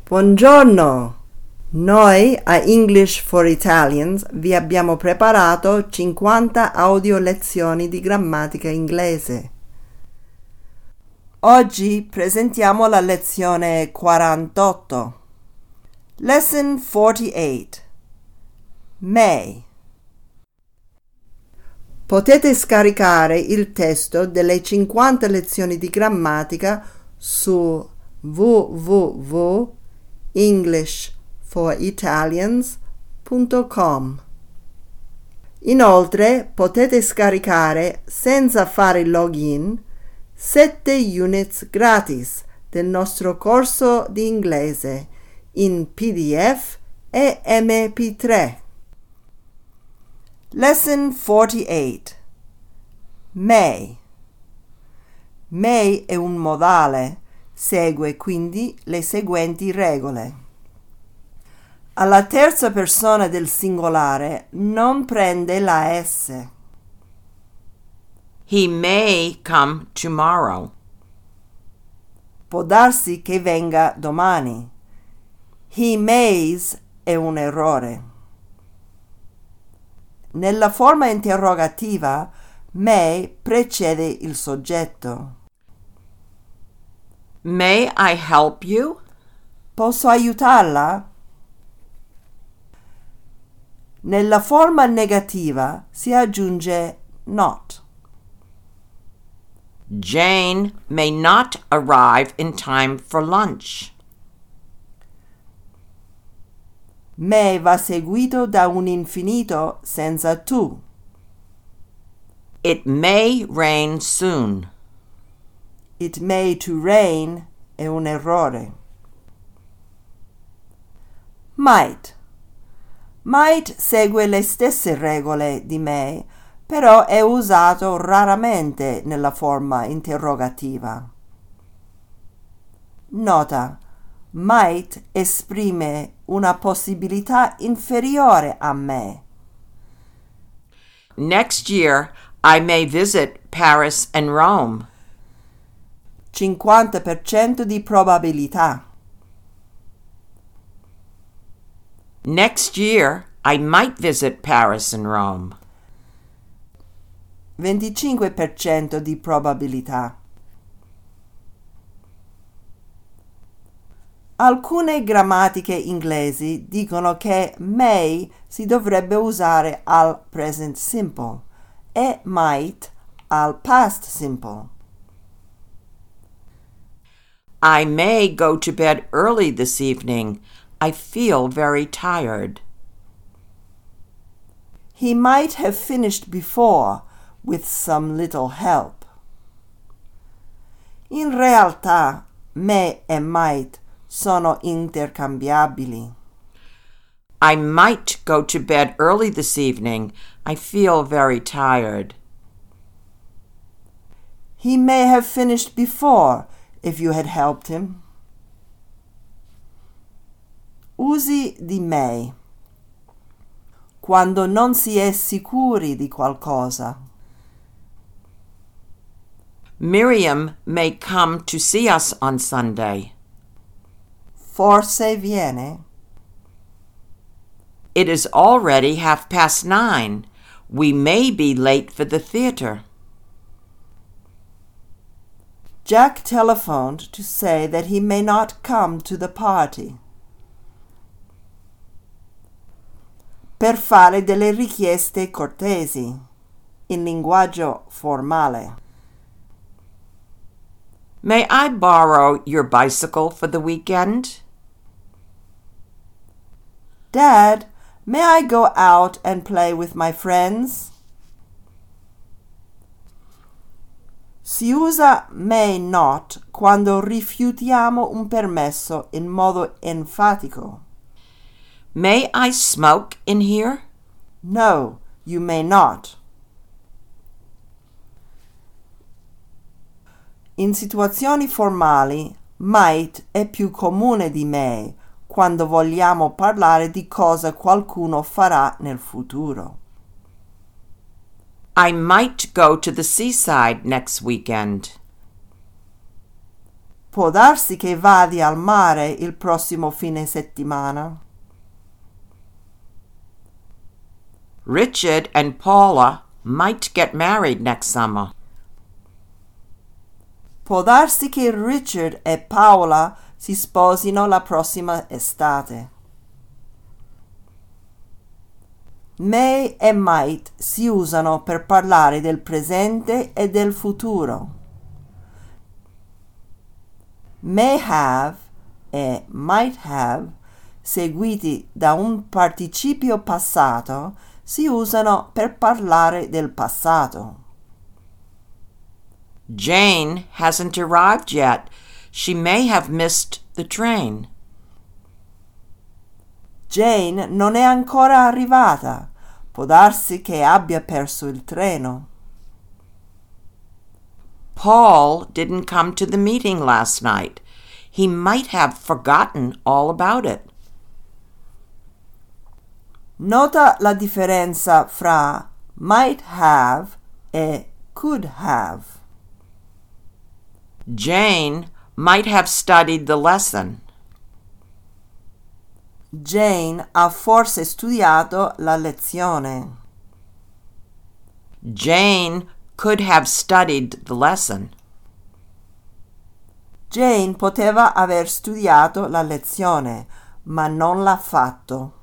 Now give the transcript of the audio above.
Buongiorno! Noi a English for Italians vi abbiamo preparato 50 audio lezioni di grammatica inglese. Oggi presentiamo la lezione 48. Lesson 48. May. Potete scaricare il testo delle 50 lezioni di grammatica su www.englishforitalians.com. Inoltre potete scaricare senza fare login 7 units gratis del nostro corso di inglese in PDF e MP3. Lesson 48. May. May è un modale, segue quindi le seguenti regole. Alla terza persona del singolare non prende la S. He may come tomorrow. Può darsi che venga domani. He mays è un errore. Nella forma interrogativa, may precede il soggetto. May I help you? Posso aiutarla? Nella forma negativa si aggiunge not. Jane may not arrive in time for lunch. May va seguito da un infinito senza to. It may rain soon. It may to rain è un errore. Might. Might segue le stesse regole di may, però è usato raramente nella forma interrogativa. Nota: might esprime una possibilità inferiore a may. Next year, I may visit Paris and Rome. 50% di probabilità. Next year, I might visit Paris and Rome. 25% di probabilità. Alcune grammatiche inglesi dicono che may si dovrebbe usare al present simple e might al past simple. I may go to bed early this evening. I feel very tired. He might have finished before with some little help. In realtà, may e might sono intercambiabili. I might go to bed early this evening. I feel very tired. He may have finished before if you had helped him. Usi di may. Quando non si è sicuri di qualcosa. Miriam may come to see us on Sunday. Forse viene. It is already 9:30. We may be late for the theater. Jack telephoned to say that he may not come to the party. Per fare delle richieste cortesi, in linguaggio formale. May I borrow your bicycle for the weekend? Dad, may I go out and play with my friends? Si usa may not quando rifiutiamo un permesso in modo enfatico. May I smoke in here? No, you may not. In situazioni formali, might è più comune di may quando vogliamo parlare di cosa qualcuno farà nel futuro. I might go to the seaside next weekend. Può darsi che vadi al mare il prossimo fine settimana. Richard and Paula might get married next summer. Può darsi che Richard e Paola si sposino la prossima estate. May e might si usano per parlare del presente e del futuro. May have e might have, seguiti da un participio passato, si usano per parlare del passato. Jane hasn't arrived yet. She may have missed the train. Jane non è ancora arrivata. Può darsi che abbia perso il treno. Paul didn't come to the meeting last night. He might have forgotten all about it. Nota la differenza fra might have e could have. Jane might have studied the lesson. Jane ha forse studiato la lezione. Jane could have studied the lesson. Jane poteva aver studiato la lezione, ma non l'ha fatto.